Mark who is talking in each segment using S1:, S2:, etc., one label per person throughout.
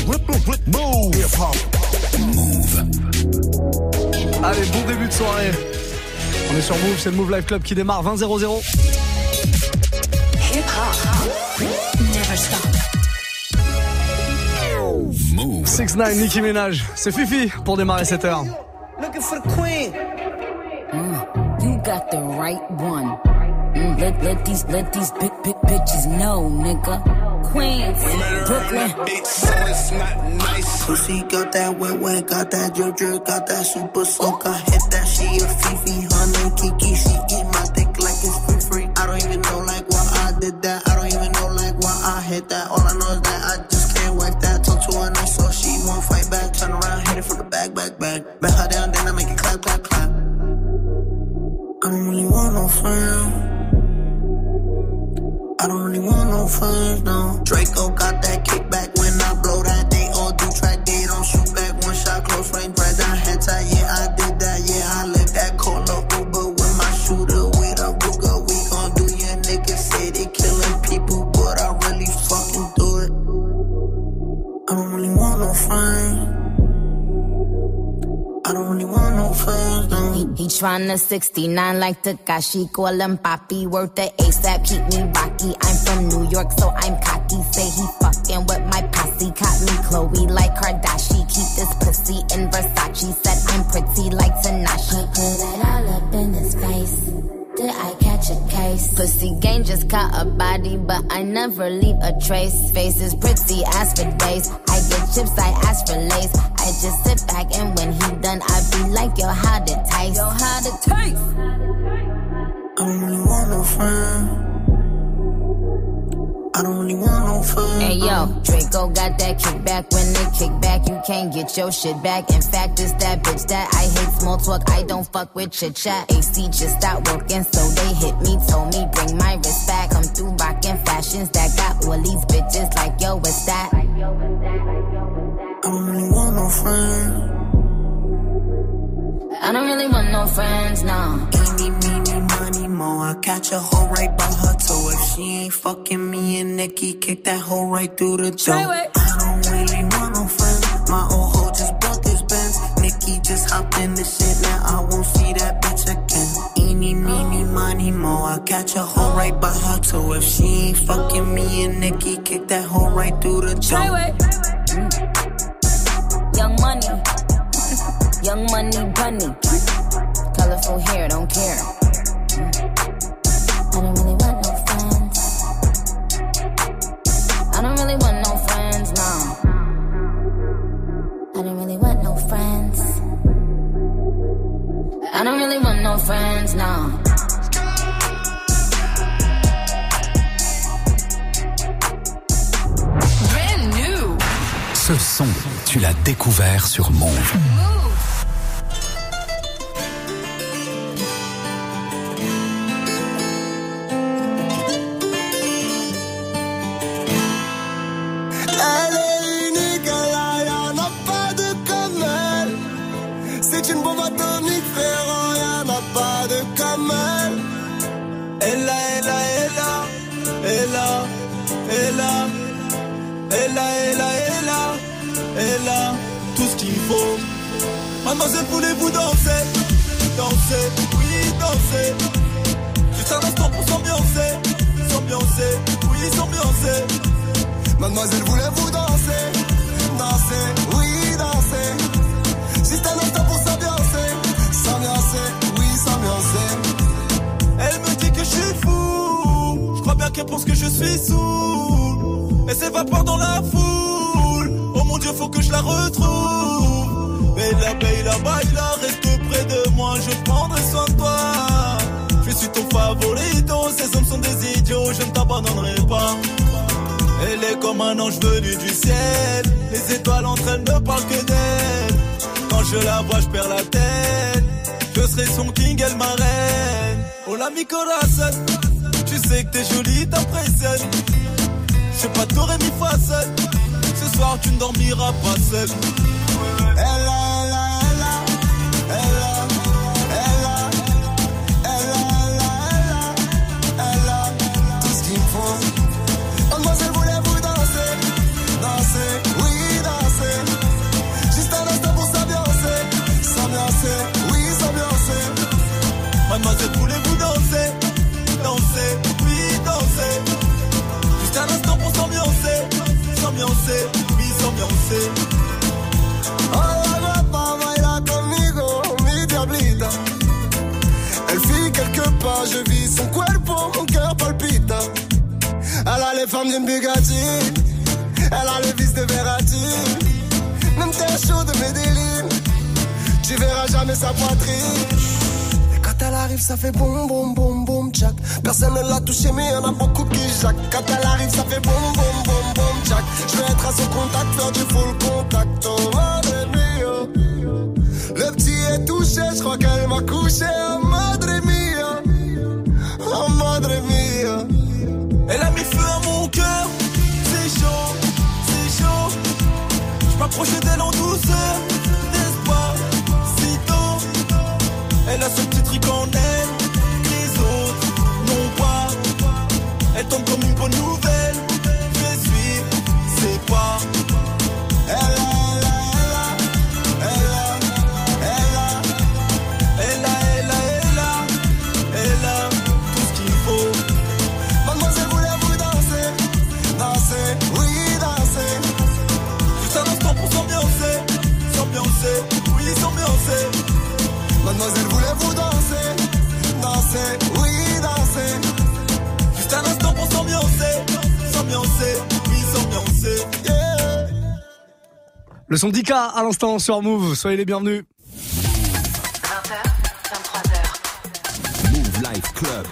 S1: Move.
S2: Move.
S3: Allez, bon début de soirée. On est sur Move, c'est le Move Live Club qui démarre 20-0-0.
S4: Hip hop. Never stop.
S2: Move.
S3: 6ix9ine, Nicki Minaj. C'est Fifi pour démarrer cette heure.
S5: Looking for the queen.
S6: You got the right one. Let these bitches know, nigga. Queens, Brooklyn.
S5: So it's not nice. Pussy got that wet, got that drip, got that super soak. I hit that, she a Fifi, honey, Kiki. She eat my dick like it's free. I don't even know like why I did that. I don't even know like why I hit that. All I know is that I just can't wipe that. Talk to her nice so she won't fight back. Turn around, hit it from the back. Bet her down, then I make it clap. I don't really want no friends. I don't really want no friends, no. Draco got that kickback when I blow that. They all do track, they don't shoot back. One shot, close range, right down head tie. Yeah, I did that, yeah, I lived that. Call up Uber with my shooter, with a Ruger. We gon' do your niggas say they killing people, but I really fucking do it. I don't really want no friends. I don't really want no friends, no.
S6: He tryna 69 like Takashi, call him Papi, worth the ASAP, keep me rocky. I'm from New York, so I'm cocky. Say he fucking with my posse, caught me Chloe like Kardashian. Keep this pussy in Versace, said I'm pretty like Tanashi. Put it all up in his face. Did I catch a case? Pussy gang just caught a body, but I never leave a trace. Face is pretty, ask for days. I get chips, I ask for lace. I just sit back and when he done, I be like, yo, how'd it taste? Yo, how'd it taste?
S5: I don't really want no friends. I don't really want no friends.
S6: Hey yo, Draco got that kickback. When they kick back, you can't get your shit back. In fact, it's that bitch that I hate small talk. I don't fuck with chit chat. AC just stopped working, so they hit me, told me bring my wrist back. Come through rockin' fashions that got all these bitches like yo, what's that?
S5: I don't really want no friends.
S6: I don't really want no friends, no.
S5: Eeny, money, more. I catch a hoe right by her toe. If she ain't fucking me and Nikki, kick that hoe right through the door. I don't really want no friends. My old hoe just bought this Benz. Nikki just hopped in the shit, now I won't see that bitch again. Eeny, money, more. I catch a hoe right by her toe. If she ain't fucking me and Nikki, kick that hoe right through the door.
S6: Young money, bunny. Colorful hair, don't care. I don't really want no friends. I don't really want no friends, no. I don't really want no friends. I don't really want no friends, no.
S4: Brand new.
S2: Ce son, tu l'as découvert sur Move.
S7: Elle a tout ce qu'il faut. Mademoiselle, voulez-vous danser? Danser, oui, danser. Juste un instant pour s'ambiancer. S'ambiancer, oui, s'ambiancer. Mademoiselle, voulez-vous danser? Danser, oui, danser. Juste un instant pour s'ambiancer. S'ambiancer, oui, s'ambiancer. Elle me dit que je suis fou. Je crois bien qu'elle pense que je suis saoul. Elle s'évapore dans la foule. Oh mon Dieu, faut que je la retrouve. Baila, baila, reste près de moi, je prendrai soin de toi. Je suis ton favorito, ces hommes sont des idiots, je ne t'abandonnerai pas. Elle est comme un ange venu du ciel. Les étoiles entre elles ne parlent que d'elle. Quand je la vois, je perds la tête. Je serai son king, elle ma reine. Hola mi corazón. Tu sais que t'es jolie, t'impressionnes. Je sais pas t'aurais mis fa seul. Ce soir tu ne dormiras pas seul. Elle a tout ce qu'il faut. Mademoiselle, voulez-vous danser? Danser, oui, danser.
S1: les femmes d'une Bugatti. Elle a le vice de Verratti. Même t'es chaud de Medellin. Tu verras jamais sa poitrine. Et quand elle arrive, ça fait boum boum boum boum jack. Personne ne l'a touché, mais y'en a beaucoup qui jacques. Quand elle arrive, ça fait boum boum boum boum jack. Je vais être à son contact, faire du full contact. Oh madre mia. Le petit est touché, je crois qu'elle m'a couché. Oh madre mia. Oh madre mia.
S7: Elle a mis feu à mon cœur. C'est chaud, c'est chaud. Je m'approchais d'elle en douceur. N'est-ce pas, si tôt. Elle a ce petit truc en elle que les autres n'ont pas. Elle tombe comme une bonne nouvelle. Je vais suivre, c'est quoi. Elle a tout ce qu'il faut.
S1: Mademoiselle, voulez-vous danser? Danser, oui, danser.
S7: Juste un instant pour s'ambiancer. S'ambiancer, oui, s'ambiancer.
S1: Mademoiselle, voulez-vous danser? Danser, oui, danser.
S7: Juste un instant pour s'ambiancer. S'ambiancer, oui, s'ambiancer.
S1: Yeah.
S3: Le son d'Ika à l'instant sur Move, soyez les bienvenus.
S4: 20h, 23h.
S2: Move Life Club.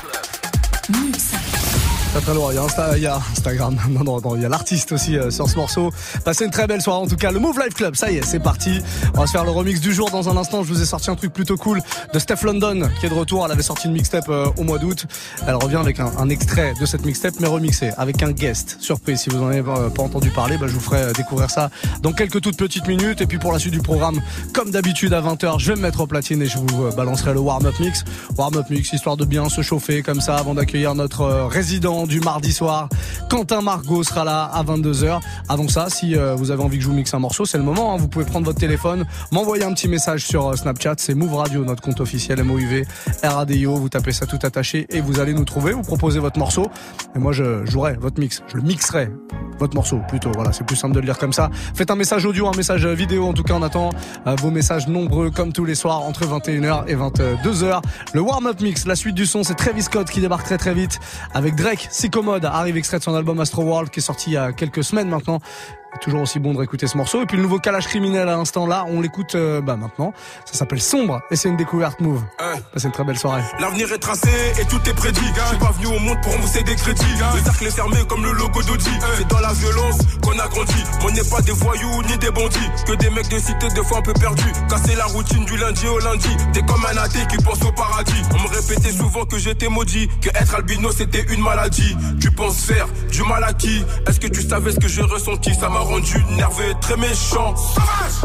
S3: Pas très loin, il y a Instagram, non, il y a l'artiste aussi sur ce morceau. Passez une très belle soirée en tout cas, le Move Life Club, ça y est, c'est parti. On va se faire le remix du jour dans un instant. Je vous ai sorti un truc plutôt cool de Steph London qui est de retour. Elle avait sorti une mixtape au mois d'août. Elle revient avec un extrait de cette mixtape mais remixé avec un guest surprise. Si vous en avez pas entendu parler, je vous ferai découvrir ça dans quelques toutes petites minutes. Et puis pour la suite du programme, comme d'habitude à 20h, je vais me mettre au platine et je vous balancerai le warm-up mix. Warm-up mix, histoire de bien se chauffer comme ça avant d'accueillir notre résident du mardi soir. Quentin Margot sera là à 22h. Avant ça, si vous avez envie que je vous mixe un morceau, c'est le moment. Vous pouvez prendre votre téléphone, m'envoyer un petit message sur Snapchat. C'est Move Radio, notre compte officiel MOUV RADIO. Vous tapez ça tout attaché et vous allez nous trouver. Vous proposez votre morceau et moi je jouerai votre mix. Je le mixerai. Votre morceau plutôt. Voilà, c'est plus simple de le lire comme ça. Faites un message audio, un message vidéo. En tout cas, on attend vos messages nombreux comme tous les soirs entre 21h et 22h. Le warm-up mix, la suite du son, c'est Travis Scott qui débarque très très vite avec Drake. Psychomode arrive extrait de son album Astro World qui est sorti il y a quelques semaines maintenant. Toujours aussi bon de réécouter ce morceau. Et puis le nouveau Kalash Criminel à l'instant là, on l'écoute maintenant. Ça s'appelle Sombre et c'est une découverte Move. Passez une très belle soirée.
S8: L'avenir est tracé et tout est prédit. Je suis pas venu au monde pour rembourser des crédits. Le cercle est fermé comme le logo d'Audi. C'est dans la violence qu'on a grandi. On n'est pas des voyous ni des bandits. Que des mecs de cité des fois un peu perdus. Casser la routine du lundi au lundi. T'es comme un athée qui pense au paradis. On me répétait souvent que j'étais maudit. Que être albino c'était une maladie. Tu penses faire du mal à qui? Est-ce que tu savais ce que j'ai ressenti? Ça m'a rendu nerveux et très méchant. Sauvage!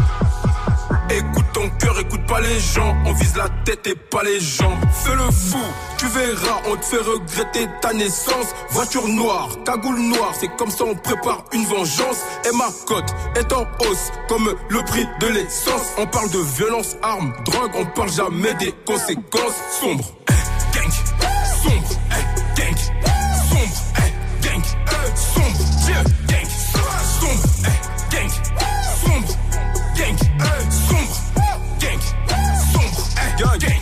S8: Écoute ton cœur, écoute pas les gens. On vise la tête et pas les jambes. Fais le fou, tu verras, on te fait regretter ta naissance. Voiture noire, cagoule noire, c'est comme ça on prépare une vengeance. Et ma cote est en hausse, comme le prix de l'essence. On parle de violence, armes, drogue, on parle jamais des conséquences. Sombre, gang, sombre, gang, sombre, gang, sombre, Dieu, gang, sombre, gang, sombre, gang, sombre, gang, sombre, gang.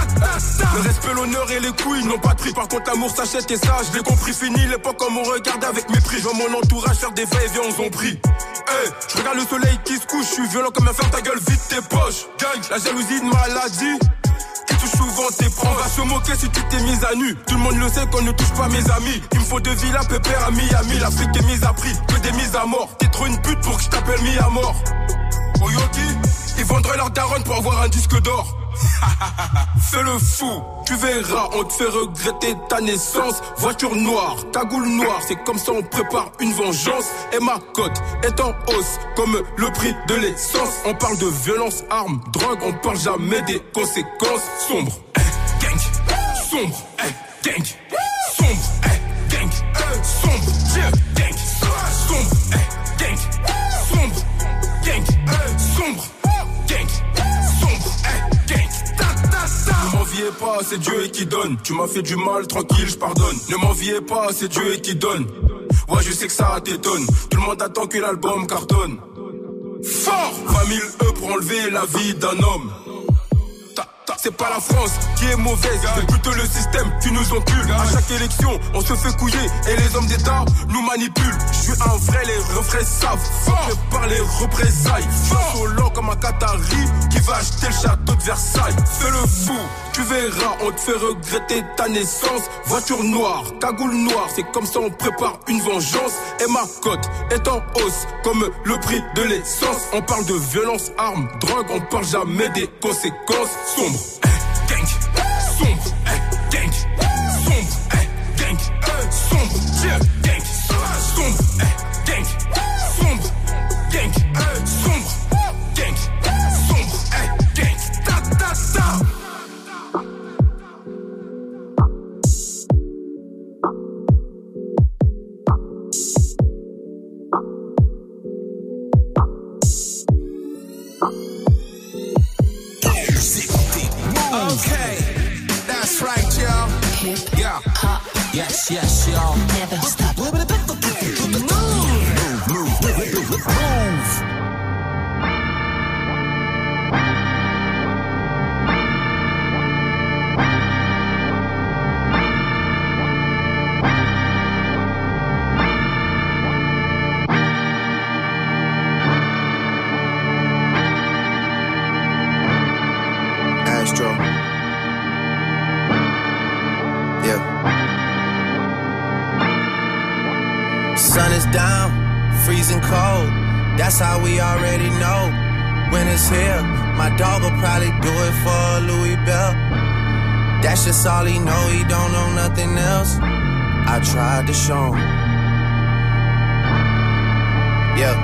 S8: Le respect, l'honneur et les couilles n'ont pas de prix. Par contre l'amour s'achète et ça je l'ai compris. Fini l'époque comme on regarde avec mépris. Je vois mon entourage faire des va-et-vient, on s'en prie. Je regarde le soleil qui se couche. Je suis violent comme un fer, ta gueule vide tes poches. Gang, la jalousie de maladie qui touche souvent tes proches. On va se moquer si tu t'es mise à nu. Tout le monde le sait qu'on ne touche pas mes amis. Il me faut de Villa Pépère à Miami. L'Afrique est mise à prix, que des mises à mort. T'es trop une pute pour que je t'appelle mis à mort. Oyoki, ils vendraient leur daronne pour avoir un disque d'or. Fais le fou, tu verras, on te fait regretter ta naissance. Voiture noire, cagoule noire, c'est comme ça on prépare une vengeance. Et ma cote est en hausse, comme le prix de l'essence. On parle de violence, armes, drogue, on parle jamais des conséquences. Sombre, gang, sombre, gang, sombre, gang, sombre, Dieu, gang, sombre, gang, sombre, gang, sombre, gang, sombre, gang. Ne m'enviez pas, c'est Dieu qui donne. Tu m'as fait du mal, tranquille, je pardonne. Ne m'enviez pas, c'est Dieu qui donne. Ouais, je sais que ça t'étonne. Tout le monde attend que l'album cartonne. Fort 20 000 E pour enlever la vie d'un homme. C'est pas la France qui est mauvaise, c'est plutôt le système qui nous encule. À chaque élection, on se fait couiller et les hommes d'État nous manipulent. Je suis un vrai, les refrains savent. Prépare les représailles. Insolent comme un Qatari qui va acheter le château de Versailles. Fais le fou, tu verras, on te fait regretter ta naissance. Voiture noire, cagoule noire, c'est comme ça on prépare une vengeance. Et ma cote est en hausse comme le prix de l'essence. On parle de violence, armes, drogue, on parle jamais des conséquences. Sombre, gang, sombre, gang, sombre, gang, sombre, gang, sombre, gang, sombre, gang, sombre, gang, sombre, gang, ta ta ta.
S9: Okay, that's right, y'all. Yeah, yes, yes, y'all.
S5: Never stop.
S9: Move.
S1: Astro. Yeah. Sun is down, freezing cold. That's how we already know. When it's here, my dog will probably do it for Louis Bell. That's just all he know, he don't know nothing else. I tried to show him. Yeah.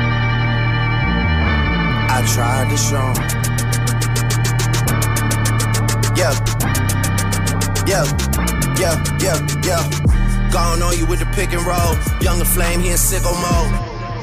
S1: I tried to show him. Yeah. Gone on you with the pick and roll. Younger flame, he in sicko mode.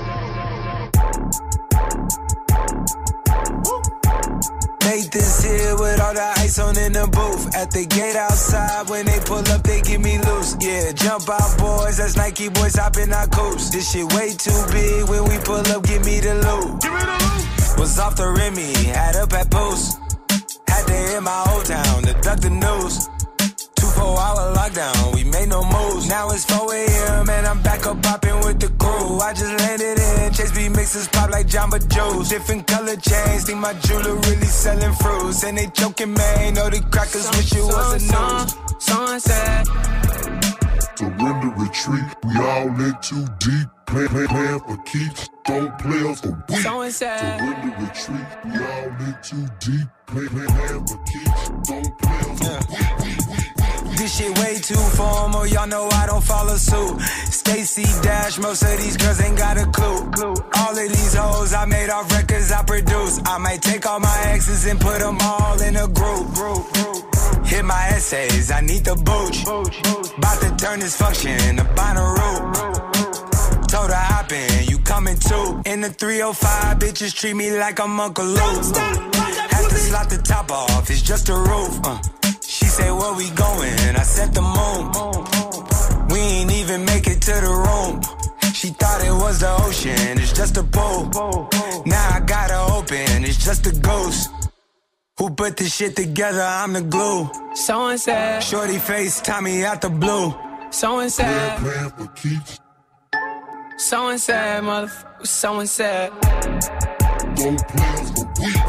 S10: Nathan's here with all the ice on in the booth. At the gate outside, when they pull up, they give me loose. Yeah, jump out, boys. That's Nike boys hopping our coops. This shit way too big. When we pull up, give me the loot. Was off the Remy, had up at Post. Had to hit my old town to duck the news. 24-hour lockdown, we made no moves. Now it's 4 a.m. and I'm back up popping with the crew. I just landed in, Chase B mixes pop like Jamba Joe's. Different color chains, think my jeweler really selling fruits. And they joking, man, know the crackers wish it was a news.
S11: Sunset. Surrender, retreat, we all in too deep. Plan for keeps, don't play us for weak. Surrender, retreat, we all in too deep. Plan for keeps, don't play us for weak.
S10: This shit way too formal, y'all know I don't follow suit. Stacy Dash, most of these girls ain't got a clue. All of these hoes I made off records I produce. I might take all my exes and put them all in a group. Hit my essays, I need the booch. About to turn this function into Bonnaroo. Told her hop in, you coming too. In the 305, bitches treat me like I'm Uncle Luke. Have to slot the top off, it's just a roof. She said, where we going? I said the moon. We ain't even make it to the room. She thought it was the ocean, it's just a pool. Now I gotta open, it's just a ghost. Who put this shit together? I'm the glue. So and said. Shorty face, Tommy out the blue. So and said.
S11: Plan for keeps,
S10: So and said, motherfucker. So and said.
S11: don't play us for weak.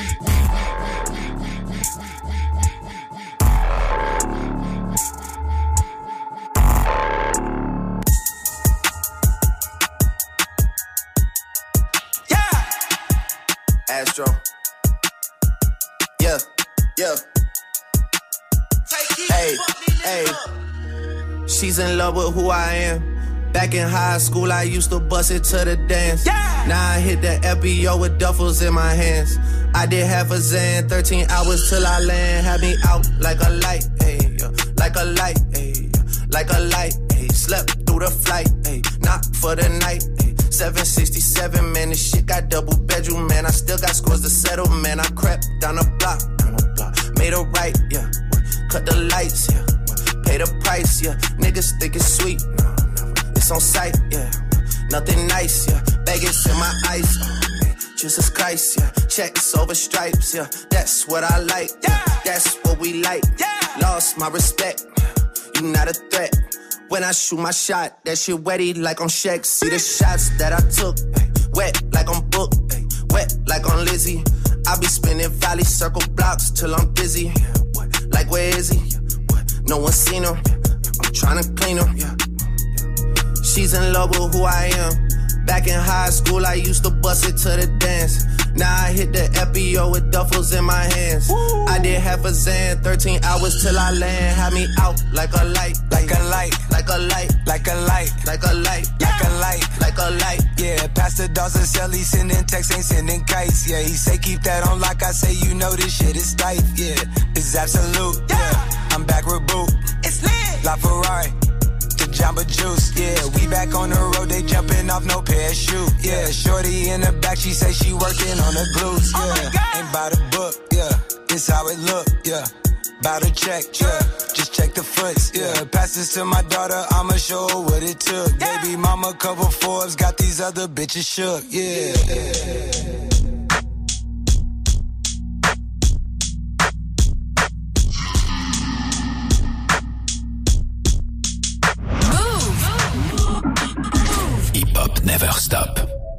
S1: Astro. Yeah. Hey. She's in love with who I am. Back in high school, I used to bust it to the dance. Yeah. Now I hit the FBO with duffels in my hands. I did half a Zan, 13 hours till I land. Had me out like a light, ayy, like a light, ayy, like a light, ayy. Slept through the flight, ayy, not for the night, ayy. 767, man, this shit got double bedroom, man. I still got scores to settle, man. I crept down the block, made a right, yeah. Cut the lights, yeah. Pay the price, yeah. Niggas think it's sweet, no, never. It's on sight, yeah. Nothing nice, yeah. Vegas in my ice,
S12: Jesus Christ, yeah. Checks over stripes, yeah. That's what I like, yeah. That's what we like, yeah. Lost my respect, you not a threat. When I shoot my shot, that shit wetty like on Shaq. See the shots that I took, wet like on Book, wet like on Lizzie. I be spinning valley circle blocks till I'm dizzy. Like where is he? No one seen him. I'm tryna clean him. She's in love with who I am. Back in high school, I used to bust it to the dance. Now I hit the FBO with duffels in my hands. Woo. I did half a Zan, 13 hours till I land. Had me out like a light, like a light, like a light, like a light, like a light, like a light, like a light. Yeah, Pastor Dawson Sally sending texts, ain't sending kites. Yeah, he say keep that on like I say, you know this shit is tight. Yeah, it's absolute. Yeah, I'm back with Boo. It's lit. La Ferrari. Jamba Juice, yeah, we back on the road, they jumping off no parachute, yeah, shorty in the back, she say she working on the glutes, yeah, ain't by the book, yeah, it's how it look, yeah, bout to check, yeah, just check the foots, yeah, pass this to my daughter, I'ma show her what it took, baby mama cover Forbes, got these other bitches shook, yeah.
S2: Never stop.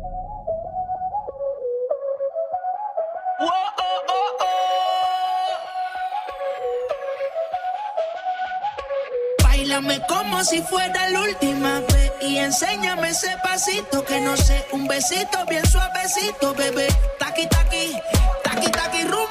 S13: Báilame como si fuera la última vez y enséñame ese pasito que no sé, un besito bien suavecito, bebé. Taqui taqui, taqui taqui rumba.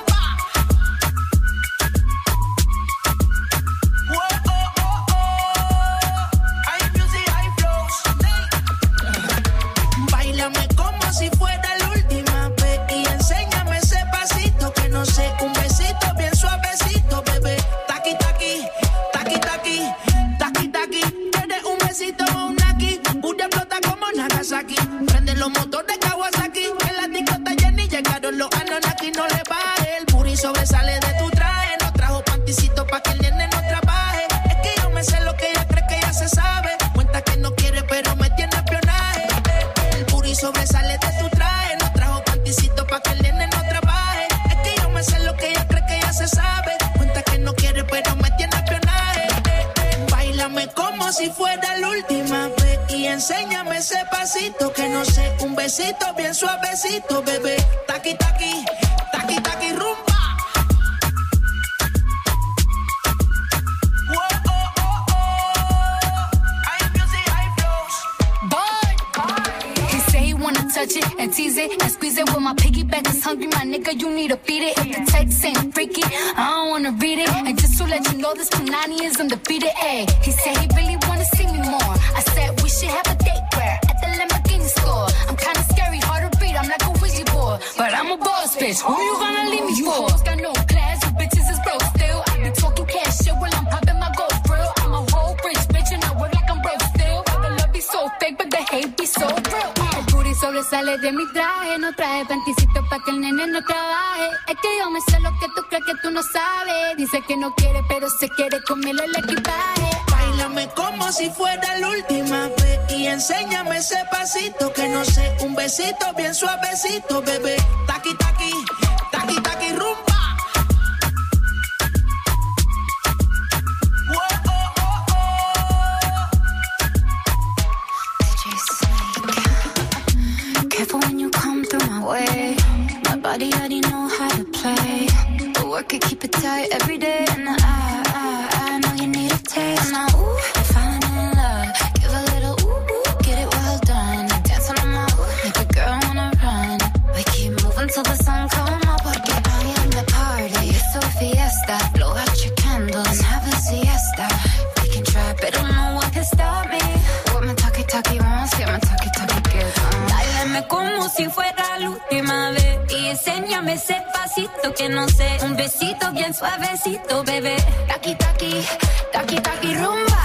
S13: Si fuera la última vez y enséñame ese pasito que no sé, un besito bien suavecito, bebé. Taqui taqui, taqui taqui, taqui taqui. Tienes un besito o un aquí, Buda explota como Nagasaki. Prende los motores Kawasaki, en la discota Jenny llegaron los Anunnaki. No le baje, el puri sobresale de tu traje. No trajo panticito pa' que el nene no trabaje. Es que yo me sé lo que ella cree que ya se sabe. Cuenta que no quiere pero me tiene espionaje. El puri sobresale de tu traje, no trajo panticito pa' que el nene no trabaje. Es que yo me sé lo que ella cree que ya se sabe. Cuenta que no quiere pero me tiene espionaje. Báilame como si fuera la última vez y enséñame ese pasito que no sé, un besito bien suavecito, bebé. Taqui taqui, taqui taqui rumba.
S14: Touch it and tease it and squeeze it. When my piggyback is hungry, my nigga, you need to feed it. If the text ain't freaky, I don't wanna read it. And just to let you know, this Punani is undefeated. Ayy, he said he really wanna see me more. I said we should have a date where at the Lamborghini store. I'm kinda scary, hard to read, I'm like a Ouija board, but I'm a boss bitch. Who you gonna leave me for? You hoes got no class, you bitches is broke still. I be talking cash shit while I'm popping my gold grill. I'm a whole rich bitch and I work like I'm broke still. But the love be so fake, but the hate be so real. Sobresale de mi traje, no traje panticito pa' que el nene no trabaje. Es que yo me sé lo que tú crees que tú no sabes. Dice que no quiere, pero se quiere comerle el equipaje.
S13: Báilame como si fuera la última vez y enséñame ese pasito que no sé, un besito bien suavecito, bebé. Taqui taqui, taqui taqui rumba.
S14: When you come through my way, my body already know how to play. The work it, keep it tight every day. And I know you need a taste. Now, ooh, I'm falling in love. Give a little ooh, get it well done. Dance on my ooh, make a girl wanna run. We keep moving till the sun come up. Porque I am the party, it's a fiesta. Blow out your candles and have a siesta. We can try, but no one can stop me. What my talkie wants, get my talkie gets on.
S15: Dáleme como si fuera la última vez y enséñame ese pasito que no sé, un besito bien suavecito, bebé. Taqui taqui, taqui taqui rumba.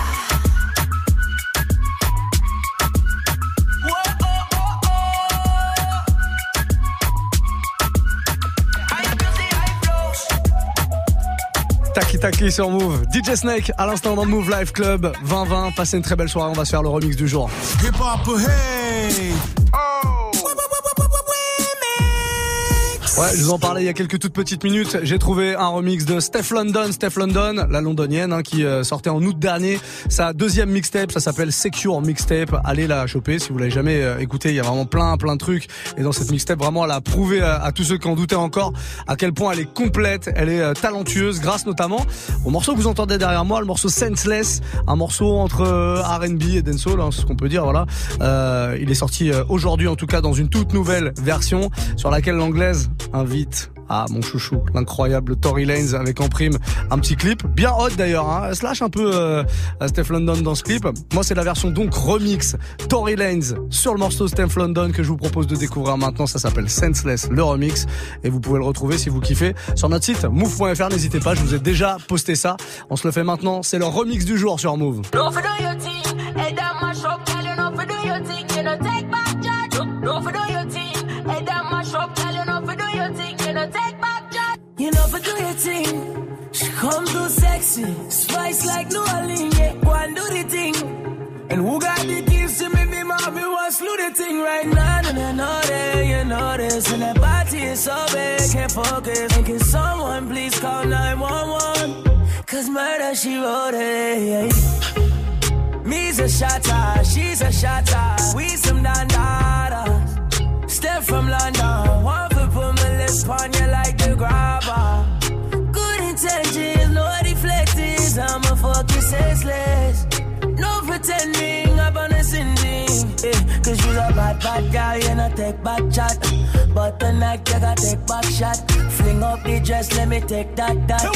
S3: Taki Taki sur Move. DJ Snake à l'instant dans le Move Live Club 2020. Passez une très belle soirée, on va se faire le remix du jour.
S16: Hip hop, hey! Oh!
S3: Ouais, je vous en parlais il y a quelques toutes petites minutes. J'ai trouvé un remix de Steph London, la londonienne, qui sortait en août dernier. Sa deuxième mixtape, ça s'appelle Secure Mixtape. Allez la choper si vous l'avez jamais écouté. Il y a vraiment plein de trucs. Et dans cette mixtape, vraiment, elle a prouvé à tous ceux qui en doutaient encore à quel point elle est complète, elle est talentueuse, grâce notamment au morceau que vous entendez derrière moi, le morceau Senseless, un morceau entre R&B et dancehall, c'est ce qu'on peut dire. Voilà. Il est sorti aujourd'hui, en tout cas, dans une toute nouvelle version sur laquelle l'anglaise invite mon chouchou, l'incroyable Tory Lanez avec en prime un petit clip bien hot d'ailleurs, elle se lâche un peu Steph London dans ce clip. Moi c'est la version donc remix Tory Lanez sur le morceau Steph London que je vous propose de découvrir maintenant. Ça s'appelle Senseless, le remix, et vous pouvez le retrouver si vous kiffez sur notre site move.fr. N'hésitez pas, je vous ai déjà posté ça. On se le fait maintenant, c'est le remix du jour sur Move.
S16: You know for do your thing. She come too sexy, spice like New Orleans. Yeah, go and do the thing. And who got the keys to make me mommy want slew the thing right now? And I know that you know this. And that body is so big, can't focus. And can someone please call 911? Cause murder she wrote it. Me's a shotter, she's a shotter. We some dandadas. Step from London, one foot put my lips on you like the grabber. Good intentions, no deflectors. I'ma fuck you senseless. No pretending, I'm on a sending. Cause you're a bad girl, you not take back chat. But tonight you gotta take back shot. Fling up the dress, let me take that.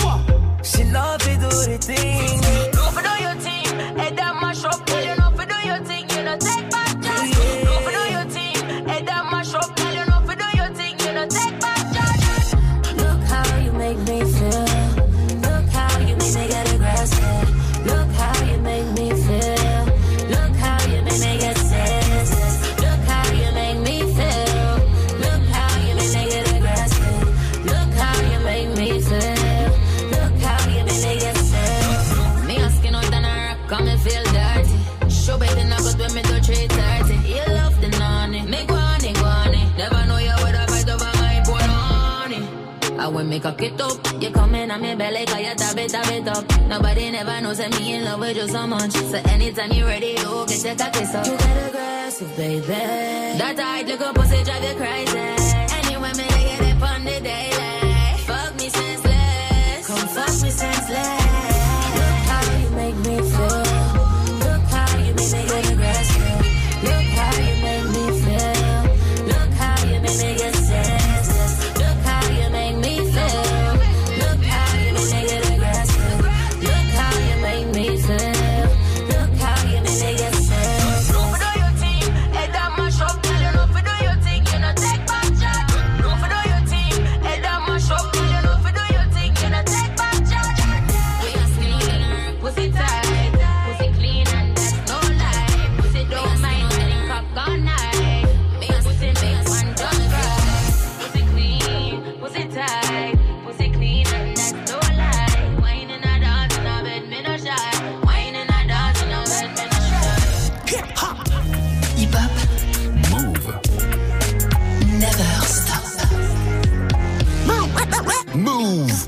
S16: She know if you do the thing.
S13: No for do your thing, head that mash up. Tell you no for do your thing, you know take back chat. No for do your thing, head that mash up. Tell you no for do your thing, you know take back chat.
S15: Look how you make me feel. Look how you make me get aggressive. Look how you make me feel. Look how you make me get senseless. Look how you make me feel. Look how you make me get aggressive. Look how you make me feel. Look how you make me get senseless. Me asking out and I rock, come and feel dirty. Show better not good when me do 3:30. You love the nanny, me guani. Never know you would have fight over my poor honey. I will make a kit up. You come in on me belly, cause you tap it up. Nobody never knows that me in love with you so much. So anytime you ready, you get your cocky up. You get aggressive, baby. That tight little pussy drive you crazy. Anyway, me they get it on the daily. Fuck me senseless. Come fuck me senseless. Look how you make me feel. Look how you make me get aggressive. Look how you make me feel. Look how you make me get senseless. Look how you make me feel. Look how you make me get aggressive. Look how you make me feel. Look how you make me get senseless.
S13: No for do your thing, head that mash up. Tell you no for do your thing, you know take back chat. No for do your thing, head that mash up. Tell you no for do your thing, you know take back chat.
S15: We are skinny, pussy tight, pussy clean and that's no lie. Pussy don't mind getting crop gone night. Me a pussy make one just cry. Pussy clean, pussy tight, pussy clean and that's no lie. Wine in a dance in a bed, me no shy. Wine in a dance in a bed, me no shy.
S2: Hip hop, Move,
S4: Never stop.
S2: Move.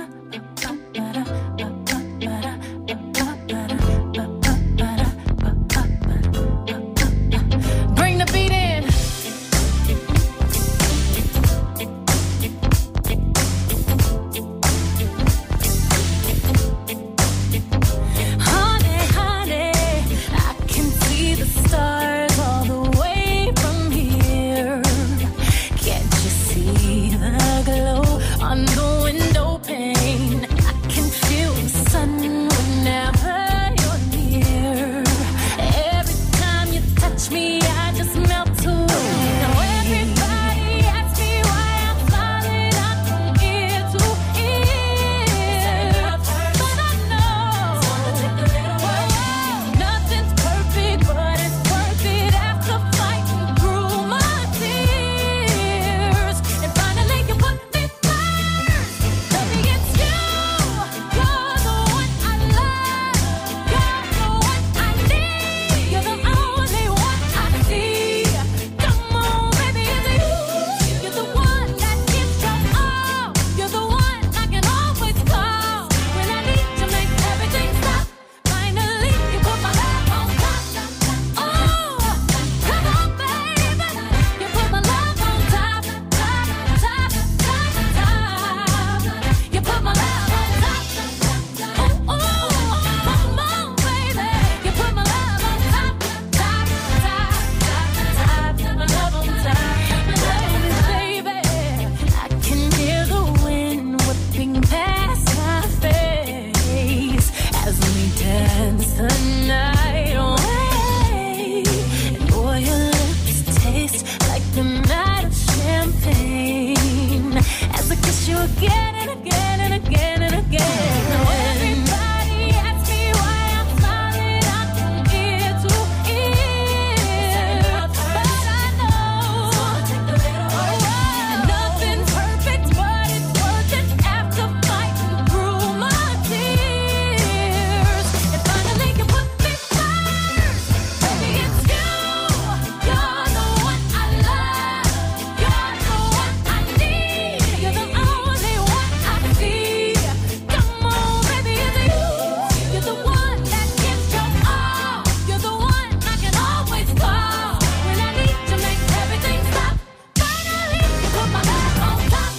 S14: Bring the beat in. Honey, I can see the stars all the way from here. Can't you see the glow on the window pane?
S15: again and again and again and again. Now everybody asks me why I'm smiling, I can ear to ear, but I know and nothing's perfect, but it's worth it after fighting through my tears. And finally you put me first, baby it's you. You're the one I love, you're the one I need, you're the only one I see. Come on, baby, it's you. You're the one that gives your all. You're the one I can always call when I need to make everything stop. Finally, you put my love on top.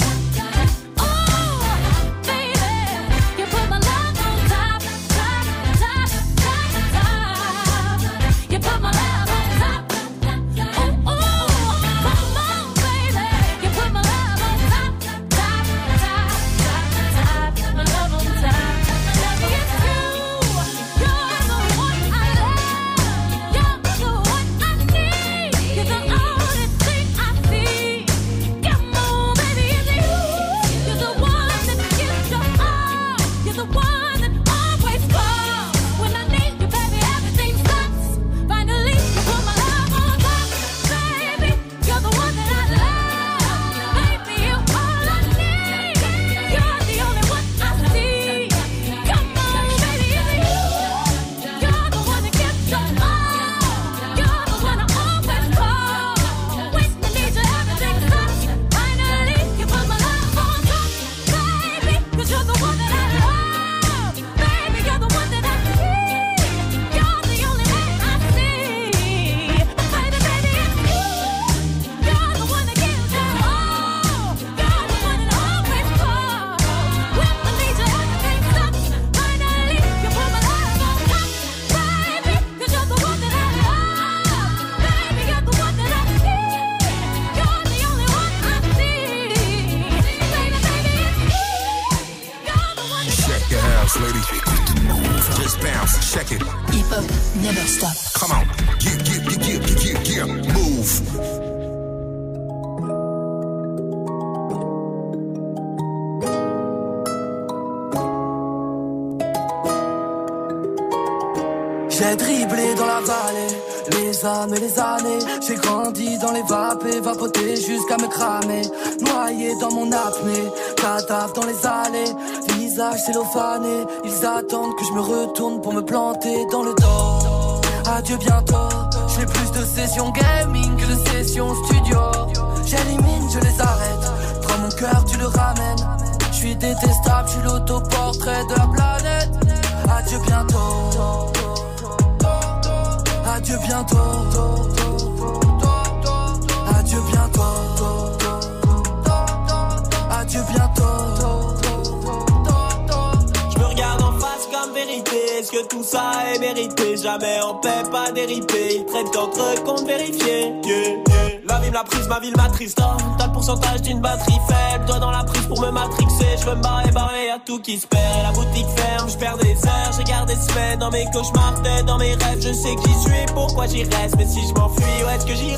S15: Oh, baby, you put my love on top, top, top, top, top. You put my love on top. Oh, come on, baby, you put my love on top, top, top, top, top. My love on top. Baby, it's you. You're the one I love. You're the one I need. You're the only thing I see. Come on, baby, it's you. You're the one that gives your all. You're the one that always calls when I need you, baby. Everything stops. Finally, you put my love on top, baby. You're the one that I love, baby. You're all I need. You're the only one I see. Come on, baby, it's you. You're the one that gives your all. You're the one I always call when I need you. Everything stops. Finally, you put my love on top, baby. 'Cause you're the one that I love, baby. You're the one that I need. You're the only man I see. Baby, baby, it's you. You're the one that gives your all. You're the one that always calls when I need you. Everything stops. Finally, you put my love on top, baby. 'Cause you're the one that I love, baby. You're the one that I need. You're the only one I see. Baby, baby, it's you. You're the one that
S9: Check your house, lady. Just bounce, check it.
S4: Hip hop never stop.
S9: Come on. Yeah. Move.
S16: J'ai dribblé dans la vallée, les âmes et les années. J'ai grandi dans les vapes et vapoté jusqu'à me cramer. Noyé dans mon apnée, cadavre dans les allées. Visage cellophané, ils attendent que je me retourne pour me planter dans le dos. Adieu bientôt, je fais plus de sessions gaming que de sessions studio. J'élimine, je les arrête, prends mon cœur, tu le ramènes. Je suis détestable, je suis l'autoportrait de la planète. Adieu bientôt. Adieu bientôt. Adieu bientôt. Adieu bientôt.
S17: Je me regarde en face comme vérité. Est-ce que tout ça est mérité? Jamais en paix, pas déripé. Ils traitent entre eux compte vérifié. La vie me l'a prise, ma ville m'attriste. T'as le pourcentage d'une batterie faible. Toi dans la prise pour me matrixer. Je veux me barrer, y'a tout qui se perd. Et la boutique ferme, je perds des heures. J'ai gardé semaines dans mes cauchemars, tête dans mes rêves. Je sais que j'y suis, pourquoi j'y reste. Mais si je m'enfuis, où est-ce que j'irai?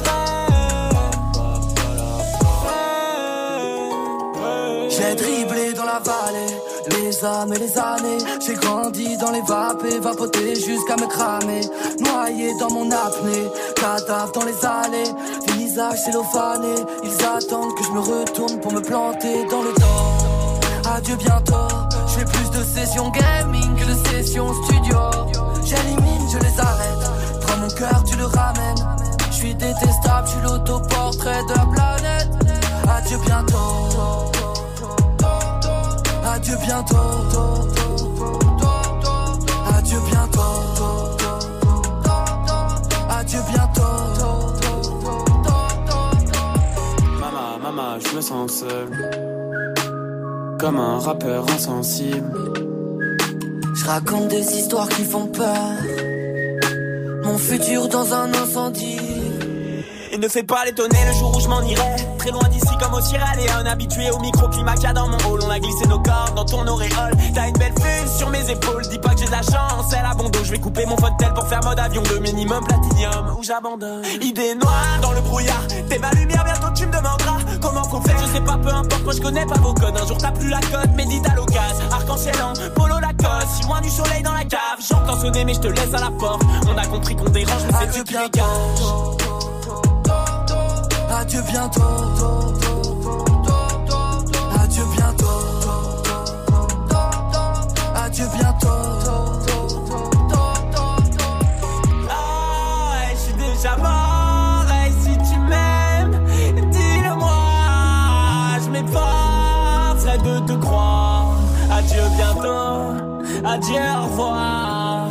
S16: J'ai dribblé dans la vallée, les âmes et les années. J'ai grandi dans les vapes et vapoté jusqu'à me cramer. Noyé dans mon apnée, cadavre dans les allées. Visage cellophané, ils attendent que je me retourne pour me planter dans le dos. Adieu bientôt, je fais plus de sessions gaming que de sessions studio. J'élimine, je les arrête, prends mon cœur, tu le ramènes. Je suis détestable, je suis l'autoportrait de la planète. Adieu bientôt. Adieu bientôt. Adieu bientôt. Adieu bientôt.
S17: Maman, je me sens seul, comme un rappeur insensible.
S16: Je raconte des histoires qui font peur. Mon futur dans un incendie.
S17: Il ne fait pas l'étonner le jour où je m'en irai. Très loin d'ici comme au Sierra Leone. Habitué au microclimat qu'il y a dans mon hall. On a glissé nos corps dans ton auréole. T'as une belle vue sur mes épaules. Dis pas que j'ai de la chance, elle a bon dos. Je vais couper mon fauteuil pour faire mode avion. Le minimum platinium ou j'abandonne. Idée noire dans le brouillard. T'es ma lumière, bientôt tu me demanderas comment faut faire. Je sais pas, peu importe, moi je connais pas vos codes. Un jour t'as plus la cote, médite à l'occasion. Arc-en-ciel en polo Lacoste, si loin du soleil dans la cave. J'entends sonner mais je te laisse à la porte. On a compris qu'on dérange mais c'est Dieu qui dégage.
S16: Adieu bientôt. Adieu bientôt. Adieu bientôt.
S17: Ah ouais, je suis déjà mort. Et si tu m'aimes, dis-le-moi. Je m'efforcerai de te croire. Adieu bientôt. Adieu, au revoir.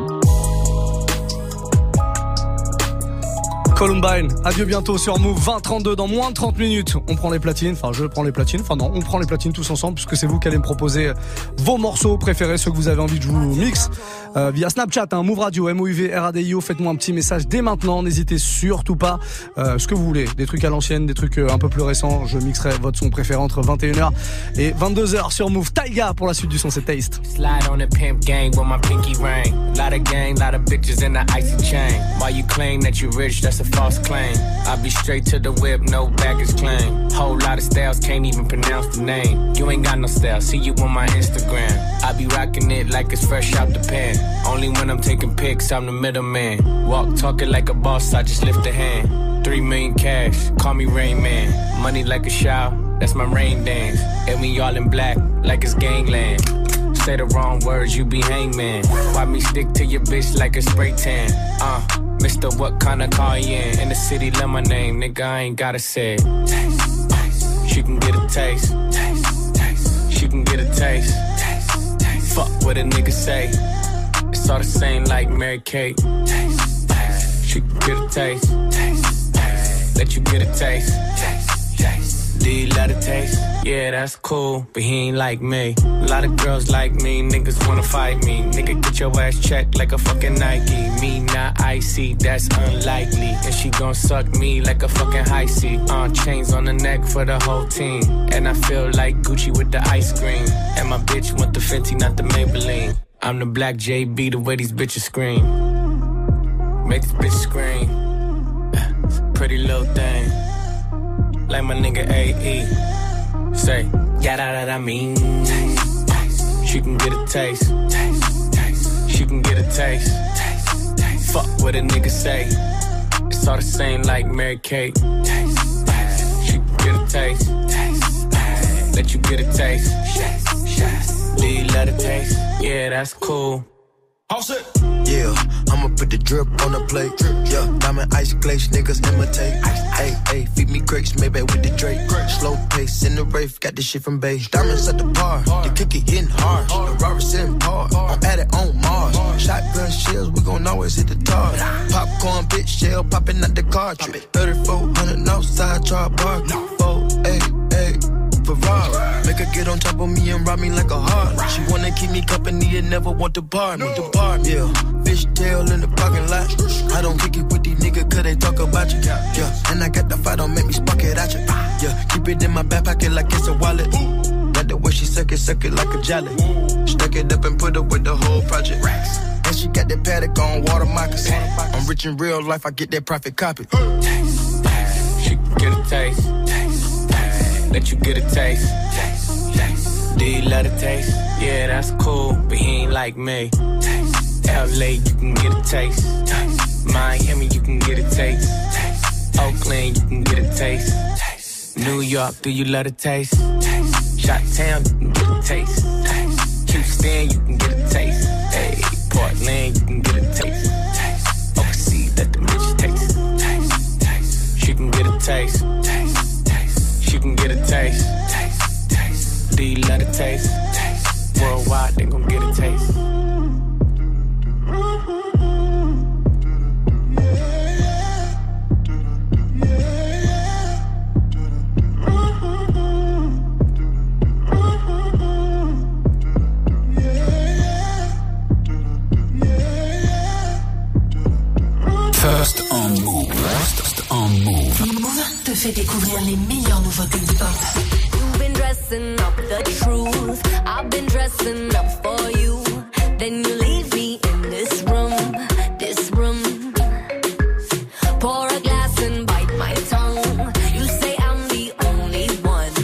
S3: Columbine, adieu bientôt sur Move, 20-32 dans moins de 30 minutes. On prend les platines, enfin je prends les platines, enfin non, on prend les platines tous ensemble puisque c'est vous qui allez me proposer vos morceaux préférés, ceux que vous avez envie que je vous mixe via Snapchat, Move Radio, MOUV, RADIO. Faites-moi un petit message dès maintenant, n'hésitez surtout pas, ce que vous voulez, des trucs à l'ancienne, des trucs un peu plus récents. Je mixerai votre son préféré entre 21h et 22h sur Move. Taiga pour la suite du son, c'est Taste.
S18: Slide on the pimp gang with my pinky ring. Lot of gang, lot of bitches in the icy chain. While you claim that you rich, that's a false claim. I be straight to the whip, no baggage claim. Whole lot of styles, can't even pronounce the name. You ain't got no style, see you on my Instagram. I be rocking it like it's fresh out the pan. Only when I'm taking pics, I'm the middleman. Walk talking like a boss, I just lift a hand. 3 million cash, call me Rain Man. Money like a shower, that's my rain dance. And we all in black, like it's gangland. Say the wrong words, you be hangman. Why me stick to your bitch like a spray tan? Mister, what kind of car you in the city, love my name, nigga, I ain't gotta say it. Taste, taste. She can get a taste. Taste, taste. She can get a taste. Taste, taste. Fuck what a nigga say. It's all the same like Mary Kate. Taste, taste. She can get a taste. Taste, taste. Let you get a taste. Taste, taste. Do you love the taste? Yeah, that's cool, but he ain't like me. A lot of girls like me, niggas wanna fight me. Nigga, get your ass checked like a fucking Nike. Me not icy, that's unlikely. And she gon' suck me like a fucking high C. Chains on the neck for the whole team. And I feel like Gucci with the ice cream. And my bitch want the Fenty, not the Maybelline. I'm the black JB, the way these bitches scream. Make this bitch scream. Pretty little thing. Like my nigga AE. Say, yeah, that I mean. Taste, taste. She can get a taste. Taste, taste. She can get a taste. Taste, taste. Fuck what a nigga say. It's all the same like Mary Kate. Taste, taste. She can get a taste. Taste, taste. Let you get a taste. Taste, taste. Do you love the taste? Yeah, that's cool.
S19: All set. Yeah, I'ma put the drip on the plate. Yeah, diamond ice glaze, niggas imitate. Hey, hey, feed me grapes, maybe with the Drake. Slow pace in the rave, got this shit from Bay. Diamonds at the bar, the kick it hitting hard. The Robert sitting hard, I'm at it on Mars. Shotgun shells, we gon' always hit the tar. Popcorn, bitch, shell popping out the cartridge. 3400 outside, try bar. 488. Ferrari. Make her get on top of me and rob me like a heart. She wanna keep me company and never want to bar me. Yeah, fishtail in the parking lot. I don't kick it with these niggas cause they talk about you. Yeah, and I got the fight, don't make me spark it at you. Yeah, keep it in my back pocket like it's a wallet. Like the way she suck it like a jelly. Stuck it up and put it with the whole project. And she got that paddock on water moccasin. I'm rich in real life, I get that profit copy.
S18: Taste, taste. She can get a taste. Let you get a taste. Taste, taste. Do you love the taste? Yeah, that's cool, but he ain't like me. Taste, LA, you can get a taste. Taste. Miami, you can get a taste. Taste. Oakland, you can get a taste. Taste. New York, do you love the taste? Taste. Chi-town, you can get a taste. Taste. Houston, you can get a taste. Hey, Portland, you can get a taste. Taste. Overseas, let the bitch taste. Taste. Taste. She can get a taste. You can get a taste. Taste, taste. Do you love the taste? Taste. Worldwide, they gon' get a taste.
S2: First on Move. First on Move.
S4: Move te fait découvrir les meilleures nouveautés hip-hop.
S20: You've been dressing up the truth. I've been dressing up for you. Then you leave me in this room, this room. Pour a glass and bite my tongue. You say I'm the only one.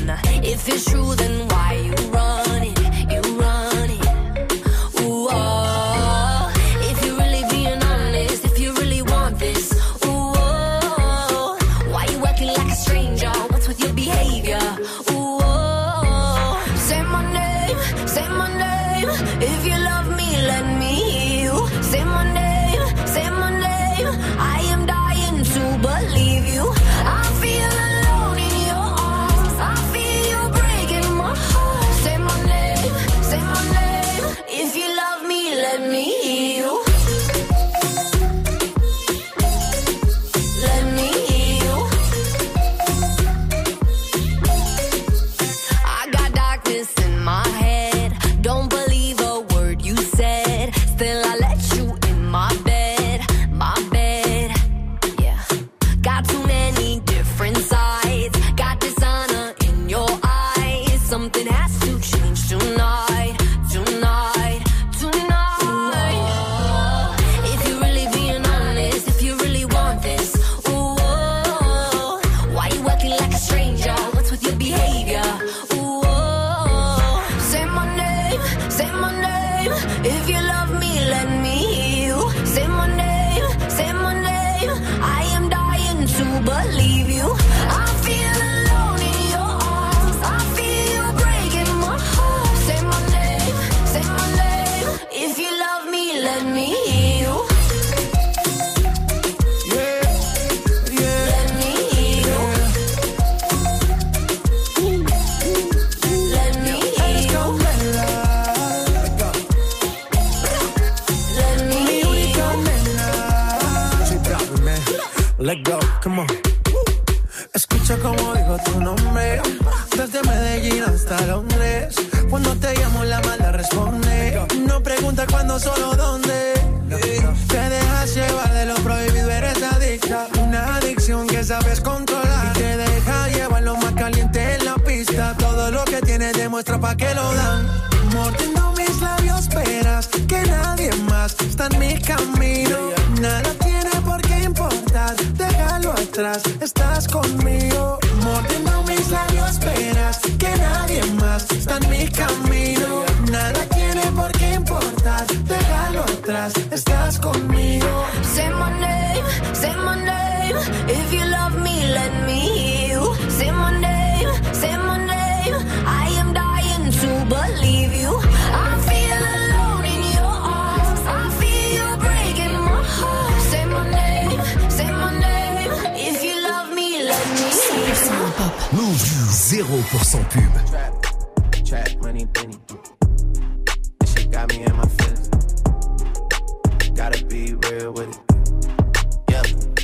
S21: hasta Londres. Cuando te llamo la mala responde. No pregunta cuándo, solo dónde. Te dejas llevar de lo prohibido, eres adicta. Una adicción que sabes controlar. Y te deja llevar lo más caliente en la pista. Todo lo que tienes demuestra pa' que lo dan. Mordiendo mis labios, esperas que nadie más está en mi camino. Nada tiene por qué importar, déjalo atrás, estás conmigo. Mordiendo mis labios, esperas que nadie más está en mi camino. Nada tiene por qué importar, déjalo atrás, estás conmigo.
S20: Say my name, if you love me, let me hear you. Say my name, I am dying to believe you. I feel alone in your arms, I feel you breaking my heart. Say my name, if you love me, let me hear you.
S2: Move 0% pub.
S12: Trap money, Benny. This shit got me in my feelings. Gotta be real with it. Yeah.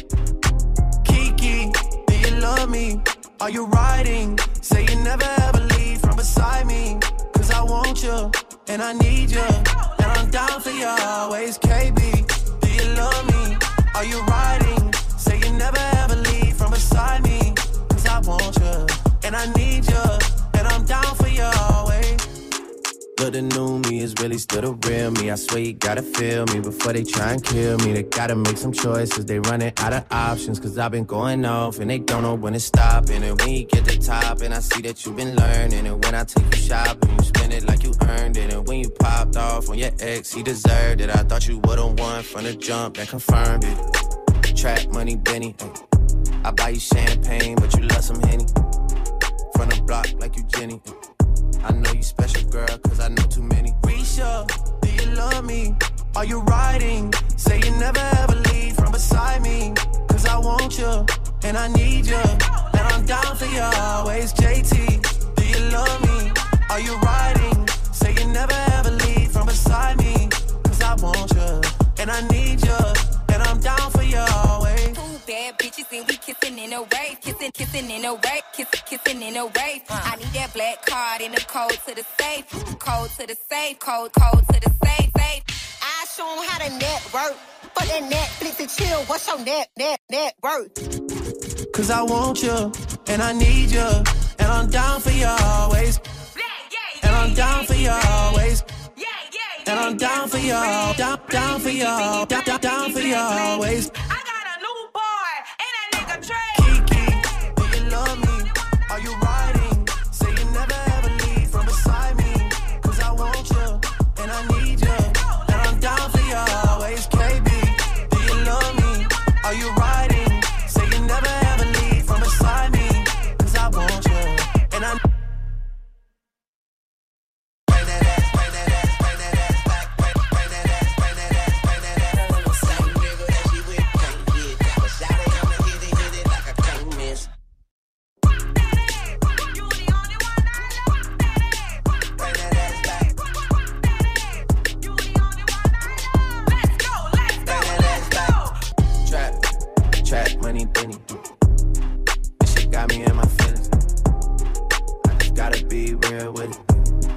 S12: Kiki, do you love me? Are you riding? Say you never ever leave from beside me. Cause I want you, and I need you. And I'm down for you always, KB. Do you love me? Are you riding? Say you never ever leave from beside me. Cause I want you, and I need you. And I'm down for you always. But the new me is really still the real me. I swear you gotta feel me before they try and kill me. They gotta make some choices, they running out of options. Cause I've been going off and they don't know when it's stopping. And when you get to top and I see that you've been learning. And when I take you shopping, you spend it like you earned it. And when you popped off on your ex, he deserved it. I thought you would've won from the jump, that confirmed it. Trap money, Benny. I buy you champagne, but you love some Henny. From the block like you Jenny. I know you special, girl, cause I know too many. Risha, do you love me? Are you riding? Say you never ever leave from beside me. Cause I want you, and I need you. And I'm down for you always, JT. Do you love me? Are you riding? Say you never ever leave from beside me. Cause I want you, and I need you. And I'm down for you always.
S22: Two bad bitches and we kissing in a rave. Kissing in a rave. Kissing in a rave. I need that black card and the code to the safe. Code to the safe. Code to the safe. I show 'em how to network. For that Netflix and chill, what's your net worth?
S12: Cause I want you, and I need you. And I'm down for you always. And I'm down for you always. And I'm down for you, down for you, down for you always.
S22: I got a new boy, and that nigga Trey.
S12: Kiki, do you love me? Are you riding? Say you never ever leave from beside me. Cause I want you, and I need you. And I'm down for you always, KB. Do you love me? Are you riding? Say you never ever leave from beside me. Cause I want you, and I money, Benny. This shit got me in my feelings. I just gotta be real with it.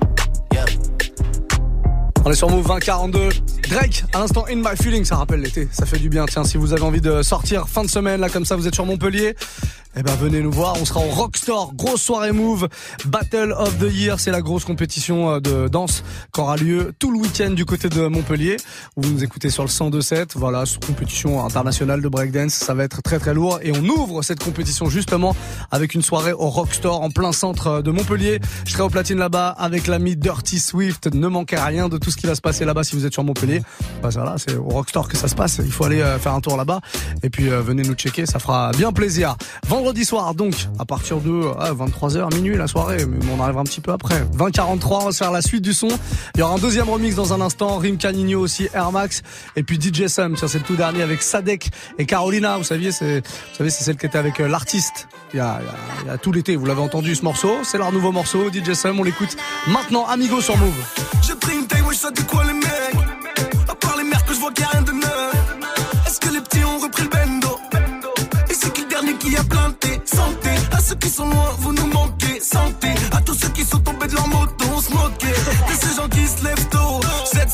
S3: On est sur Move 2042. Drake, à l'instant In My Feelings, ça rappelle l'été, ça fait du bien. Tiens, si vous avez envie de sortir fin de semaine, là comme ça, vous êtes sur Montpellier, eh ben venez nous voir, on sera au Rockstore, grosse soirée Move, Battle of the Year, c'est la grosse compétition de danse qui aura lieu tout le week-end du côté de Montpellier. Vous nous écoutez sur le 102.7, voilà, compétition internationale de breakdance, ça va être très très lourd et on ouvre cette compétition justement avec une soirée au Rockstore en plein centre de Montpellier. Je serai au platine là-bas avec l'ami Dirty Swift, ne manquez rien de tout ce qui va se passer là-bas si vous êtes sur Montpellier. Bah voilà, c'est au Rockstore que ça se passe, il faut aller faire un tour là-bas et puis venez nous checker, ça fera bien plaisir. Vendredi soir donc, à partir de 23h, minuit la soirée, mais on arrivera un petit peu après. 20h43, on va se faire la suite du son. Il y aura un deuxième remix dans un instant, Rim Canigno aussi, Air Max, et puis DJ Sam, c'est le tout dernier avec Sadek et Carolina, vous savez, c'est celle qui était avec l'artiste il y a tout l'été, vous l'avez entendu ce morceau, c'est leur nouveau morceau, DJ Sam, on l'écoute maintenant, Amigo sur Move.
S1: J'ai pris une taille, wesh, ça dit quoi les mecs? À part les merdes que je vois qu'il y a rien de neuf. Est-ce que les petits ont repris le bendo? Et c'est qui le dernier qui a planté? Santé à ceux qui sont loin, vous nous manquez. Santé à tous ceux qui sont tombés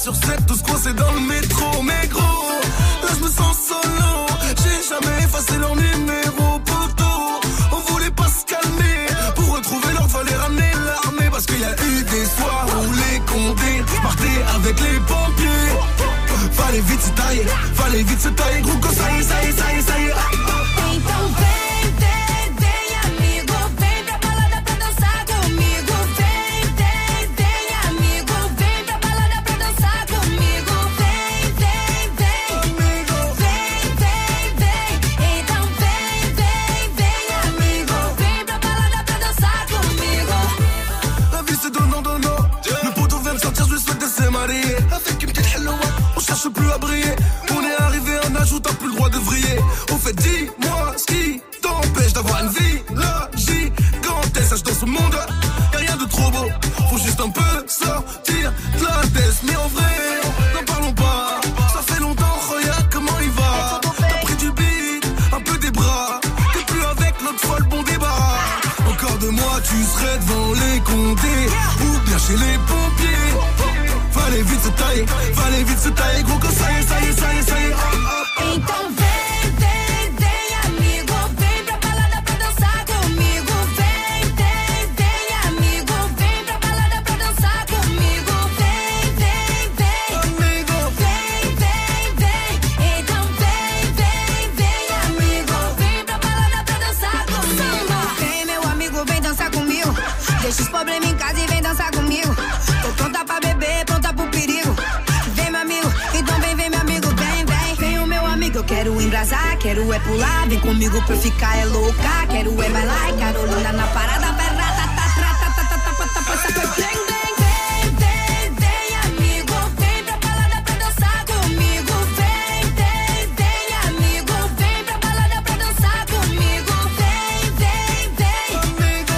S1: sur 7, tous coincés dans le métro. Mais gros, là je me sens solo. J'ai jamais effacé leur numéro, poto. On voulait pas se calmer. Pour retrouver l'ordre, fallait ramener l'armée. Parce qu'il y a eu des soirs où les condés partaient avec les pompiers. Fallait vite se tailler, gros, que ça y est.
S22: Então vem, amigo, vem pra balada pra dançar comigo. Vem, amigo, vem pra balada pra dançar comigo. Vem, amigo, vem. Então vem, amigo, vem pra balada pra dançar comigo.
S1: La vie c'est donnant. Le poteau vient de sortir, je lui souhaite de se marier. Avec une petite hello, on cherche plus à briller. On est arrivé à un âge où t'as plus le droit de vriller. Au fait, dis-moi ce qui t'empêche d'avoir une vie gigantesque. Sache dans ce monde, y'a rien de trop beau. Faut juste un peu sortir de la tête. Mais en vrai, n'en parlons pas. Ça fait longtemps, regarde comment il va. T'as pris du beat, un peu des bras. T'es plus avec notre folle, bon débarras. Encore 2 mois, tu serais devant les condés ou bien chez les pompiers. Fallait vite se tailler, gros, que ça y est.
S22: Então vem, amigo, vem pra balada pra dançar comigo. Vem, amigo, vem pra balada pra dançar comigo. Vem, amigo, vem. Então vem, amigo, vem pra balada pra dançar comigo. Vem, meu amigo, vem dançar comigo. Deixa os problemas em casa e vem dançar comigo. Tô pronta pra beber, pronta pro perigo. Vem, meu amigo, então vem, meu amigo, vem. Vem o meu amigo, eu quero embrasar, quero é pular. Vem comigo pra eu ficar é louca. Quero é bailar e Carolina na parada. Vem, amigo, vem pra balada pra dançar comigo. Vem, amigo, vem pra balada pra dançar comigo. Vem, amigo,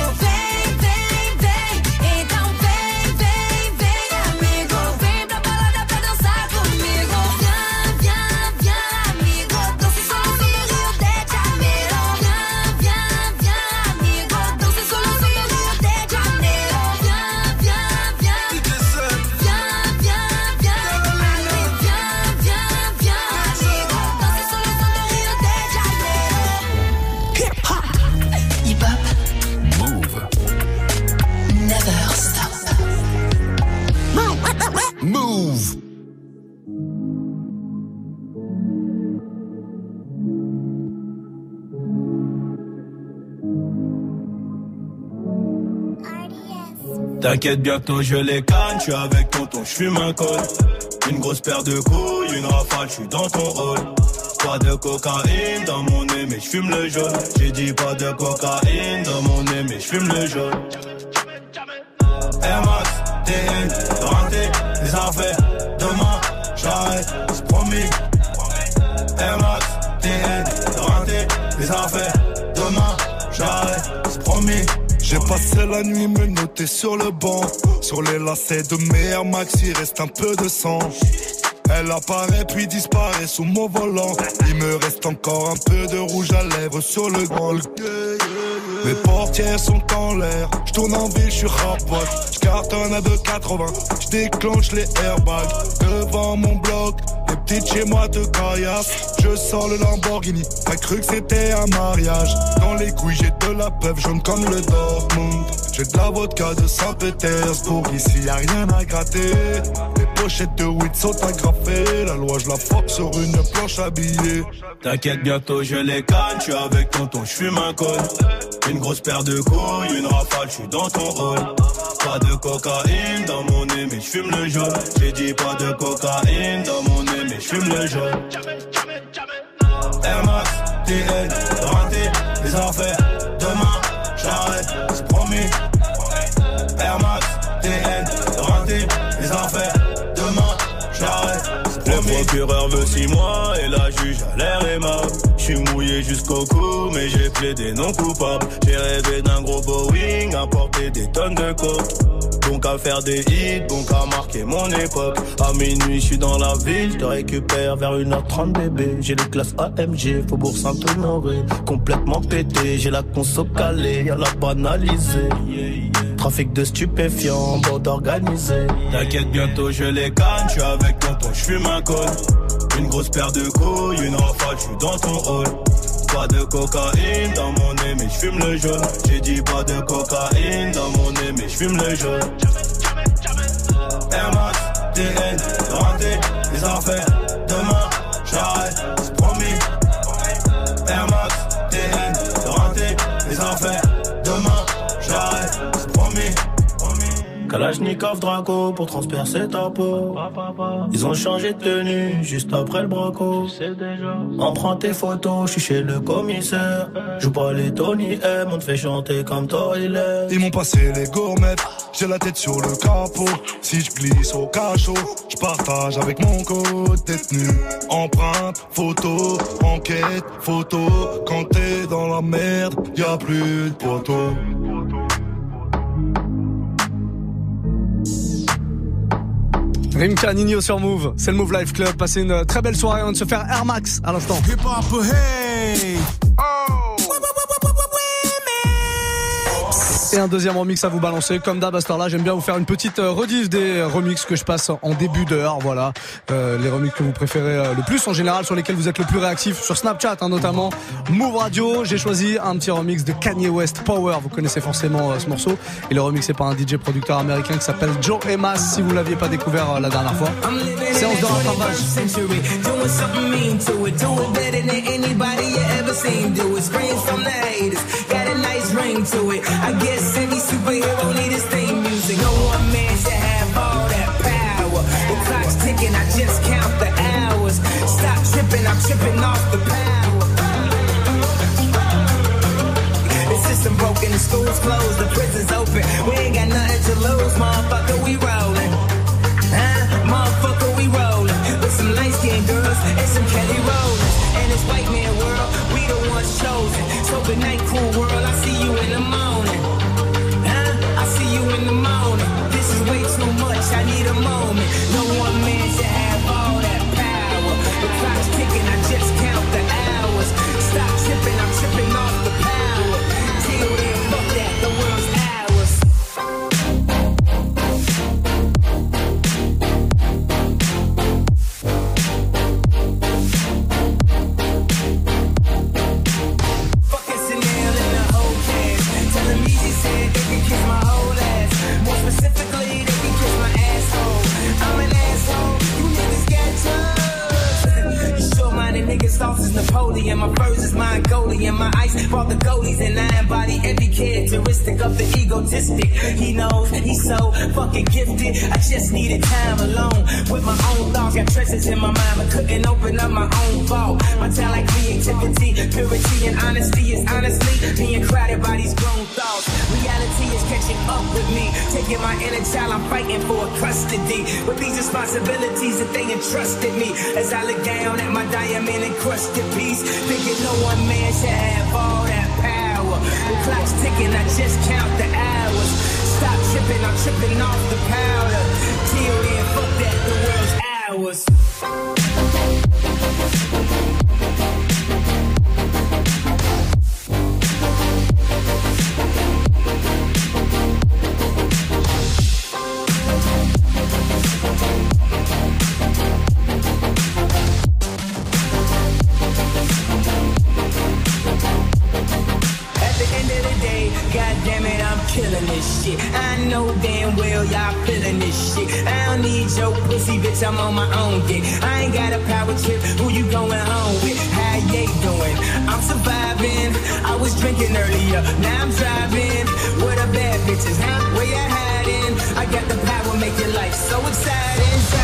S22: vem. Então vem, amigo, vem pra balada pra dançar comigo. Viens, amigo, danse solo no Rio de Janeiro. Viens, amigo, danse solo no Rio de Janeiro.
S2: Move.
S6: T'inquiète, bientôt je les canne, j'suis avec tonton, j'fume un col. Une grosse paire de couilles, une rafale, j'suis dans ton rôle. Pas de cocaïne dans mon nez, mais j'fume le jaune. J'ai dit pas de cocaïne dans mon nez, mais j'fume le jaune. Air Max, TN, renté, les affaires, demain, j'arrête, c'est promis. Air Max, TN, renté, les affaires, demain, j'arrête, c'est promis.
S7: J'ai passé la nuit menotté sur le banc. Sur les lacets de mes Air Max, il reste un peu de sang. Elle apparaît puis disparaît sous mon volant. Il me reste encore un peu de rouge à lèvres sur le grand. Mes portières sont en l'air. J'tourne en ville, j'suis rapote. J'cartonne à 2,80. J'déclenche les airbags devant mon bloc. Les petites chez moi te caillassent. Je sors le Lamborghini. T'as cru que c'était un mariage. Dans les couilles j'ai de la peuple jaune comme le Dortmund. J'ai de la vodka de Saint-Pétersbourg. Ici y'a rien à gratter. Les pochettes de weed sont agrafées. La loi je la fuck sur une planche habillée.
S6: T'inquiète, bientôt je les canne, j'suis avec tonton, j'fume un col. Une grosse paire de couilles, une rafale, j'suis dans ton rôle. Pas de cocaïne dans mon nez, mais j'fume le jaune. J'ai dit pas de cocaïne dans mon nez, mais j'fume le jaune. Air Max, TN, renté, les affaires, demain, j'arrête, c'est promis. Air Max, TN, renté, les affaires, demain, j'arrête, c'est promis. Le procureur veut 6 mois et la juge a l'air aimable. J'suis mouillé jusqu'au cou, mais j'ai plaidé non coupable. J'ai rêvé d'un gros Boeing, apporter des tonnes de coke. Bon qu'à faire des hits, bon qu'à marquer mon époque. À minuit, j'suis dans la ville, j'te récupère vers 1h30 bébé. J'ai les classes AMG, Faubourg Saint-Honoré. Complètement pété, j'ai la conso calée, y'a la banalisée. Trafic de stupéfiants, bande organisée. T'inquiète, bientôt je les gagne. J'suis avec tonton, j'fume un col. Une grosse paire de couilles, une rafale, j'suis dans ton hall. Pas de cocaïne dans mon nez, mais j'fume le jaune. J'ai dit pas de cocaïne dans mon nez, mais j'fume le jaune. Air Max, TN, renté, les affaires. Demain, j'arrête, c'est promis. Air Max, TN, renté, les affaires. Demain, j'arrête, c'est promis. Kalachnikov Draco pour transpercer ta peau. Ils ont changé de tenue juste après le braco. On prend tes photos, je suis chez le commissaire. Joue pas les Tony M, on te fait chanter comme Toilet.
S7: Ils m'ont passé les gourmettes, j'ai la tête sur le capot. Si je glisse au cachot, je partage avec mon code détenu. Empreinte, photo, enquête, photo. Quand t'es dans la merde, y'a plus de poteau.
S3: Rimka, Nino sur Move, c'est le Move Life Club. Passez une très belle soirée, on va se faire Air Max à l'instant.
S9: Hip hop, hey!
S3: Et un deuxième remix à vous balancer. Comme d'hab à cette heure-là, j'aime bien vous faire une petite rediff des remixes que je passe en début d'heure. Voilà, les remixes que vous préférez le plus en général, sur lesquels vous êtes le plus réactif, sur Snapchat notamment. Move Radio, j'ai choisi un petit remix de Kanye West, Power. Vous connaissez forcément ce morceau. Et le remix est par un DJ producteur américain qui s'appelle Joe Emas, si vous l'aviez pas découvert la dernière fois. Séance de rattrapage.
S16: Any superhero need his theme music. No one man should have all that power. The clock's ticking, I just count the hours. Stop tripping, I'm tripping off the power. The system broken, the school's closed, the prison's open. We ain't got nothing to lose, motherfucker, we rollin'. Motherfucker, we rollin'. With some light-skinned girls and some Kelly Rollins. And this white man world, we the ones chosen. So good night, cool world, I see you in the morning. See you in the morning. This is way too much, I need a moment. No one man should have all that power. The clock's ticking, I just count the hours. Stop tripping, I'm tripping off the power. Till then, fuck that, the world's ours. Fuck it's a nail in the whole cast. Tell them easy said they can kiss my whole ass. More specifically, they can kiss my asshole. I'm an asshole, you niggas got touched. You short-minded niggas, sauce is Napoleon. My furs is Mongolian. My ice brought the goalies, and I embody every characteristic of the egotistic. He knows he's so fucking gifted. I just needed time alone with my own thoughts. Got treasures in my mind, but couldn't open up my own vault. My talent, creativity, purity, and honesty is honestly being crowded by these grown thoughts. Reality is catching up with me. Taking my inner child, I'm fighting for custody. With these responsibilities that they entrusted me. As I look down at my diamond encrusted piece, thinking no one man should have all that power. The clock's ticking, I just count the hours. Stop tripping, I'm tripping off the powder. Till then, fuck that, the world's ours. Killing this shit. I know damn well y'all feeling this shit. I don't need your pussy, bitch, I'm on my own dick. I ain't got a power trip, who you going home with? How they doing? I'm surviving. I was drinking earlier, now I'm driving. Where the bad bitches, huh? Where you hiding? I got the power, make your life so exciting.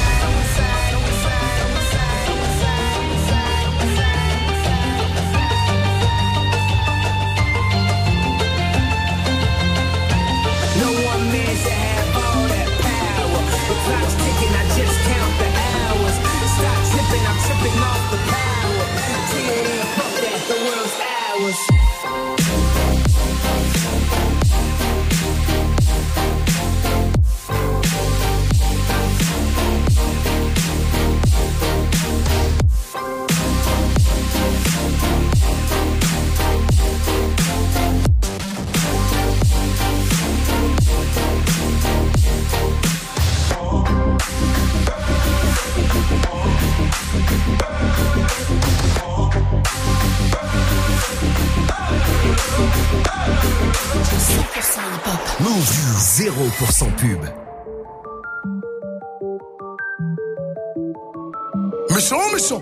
S16: Clock's ticking, I just count the hours. Stop tripping, I'm tripping off the power. Till then, fuck that, the world's ours.
S2: Move 0% pub.
S7: Méchant, méchant.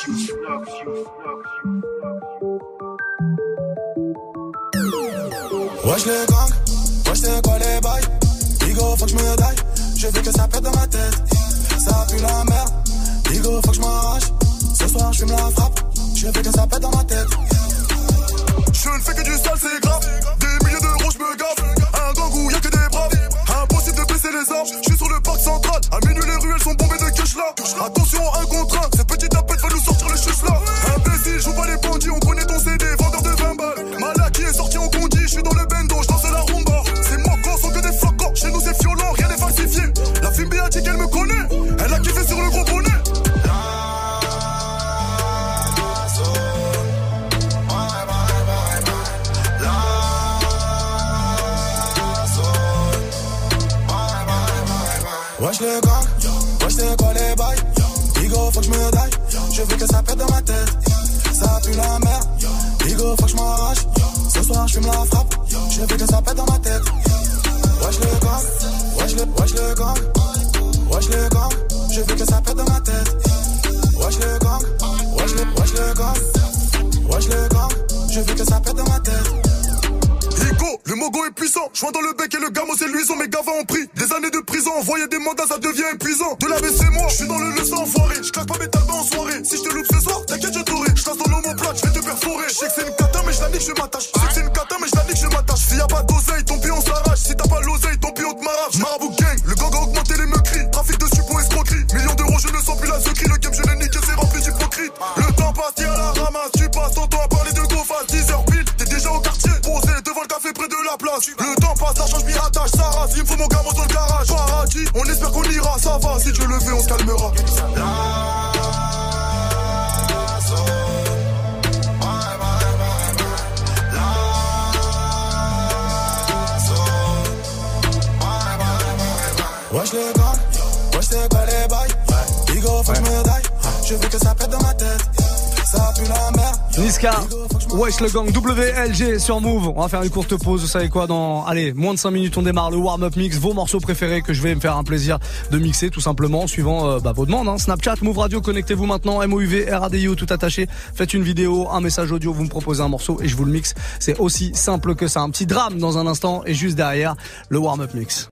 S7: Wesh les gangs, wesh c'est quoi les bails? Bigo, faut que je me daille. Je veux que ça pète dans ma tête. Ça pue la merde. Bigo, faut que je m'arrache. Ce soir, je fume la frappe. Je veux que ça pète dans ma tête. Je ne fais que du sale, c'est grave. Des milliers d'euros, je me gave. Un gang où y'a que des braves. Impossible de baisser les armes. Je suis sur le parc central. À minuit, les ruelles sont bombées de cash là. Attention, un contre un. Ces petits tapettes veulent nous sortir les chutes là. Imbécile, joue pas les bandits. On connaît ton CD, vendeur de 20 balles. Malaki est sorti en condi. Je suis dans le bendo, je danse la rumba. Ces mocos sont que des flocons. Chez nous, c'est violent, rien n'est falsifié. La Fimbi a dit qu'elle me connaît. Elle a kiffé sur le gros bonnet. Wesh les gangs, wesh c'est quoi les bails? Bigo, faut que je me daille. Je veux que ça pète dans ma tête. Ça pue la merde. Bigo, faut que je m'arrache. Ce soir, je fume la frappe. Je veux que ça pète dans ma tête. Wesh les gangs, wesh les gangs. Wesh les gangs, je veux que ça pète dans ma tête. Wesh les gangs, wesh les gangs. Wesh les gangs, je veux que ça pète dans ma tête. Le mogo est puissant, joint dans le bec et le gamo c'est luisant. Mes gavas ont pris des années de prison. Envoyer des mandats ça devient épuisant. De la baisse c'est moi, je suis dans le leçon enfoiré. Je claque pas mes talbans en soirée. Si je te loupe ce soir, t'inquiète je t'aurai. Je passe dans l'homoplate, je vais te perforer. Je sais que c'est une cata mais je la nique, je m'attache. Je sais que c'est une cata mais je la nique, je m'attache. Si y'a pas d'oseille, ton pied on s'arrache. Si t'as pas l'oseille, ton pied on te marave. Marabout gang, le gang a augmenté les meurtris. Trafic de suppos escroquerie. Millions d'euros, je ne sens plus la secrie. Le game je l'ai niqué, c'est rempli d'hypocrite. Le temps passe, t'es à la ramasse. Tu passes ton temps à parler de go face. 10h pile, t'es déjà au quartier. Posé devant le café près de la place. Le temps passe, l'argent je m'y attache, ça rase. Il me faut mon gamin dans le garage. Paradis, on espère qu'on ira, ça va. Si Dieu le fait, on se calmera. Wesh les gars, wesh c'est quoi les bails? Bigo, faut que je me daille. Je veux que ça pète dans ma tête. Ça pue la merde.
S3: Niska, wesh le gang, WLG sur Move. On va faire une courte pause, vous savez quoi, dans, allez, moins de 5 minutes on démarre le warm-up mix, vos morceaux préférés que je vais me faire un plaisir de mixer tout simplement, suivant vos demandes, hein. Snapchat, Move Radio, connectez-vous maintenant, MOUV, RADIO, tout attaché, faites une vidéo, un message audio, vous me proposez un morceau et je vous le mixe, c'est aussi simple que ça. Un petit drame dans un instant et juste derrière, le warm-up mix.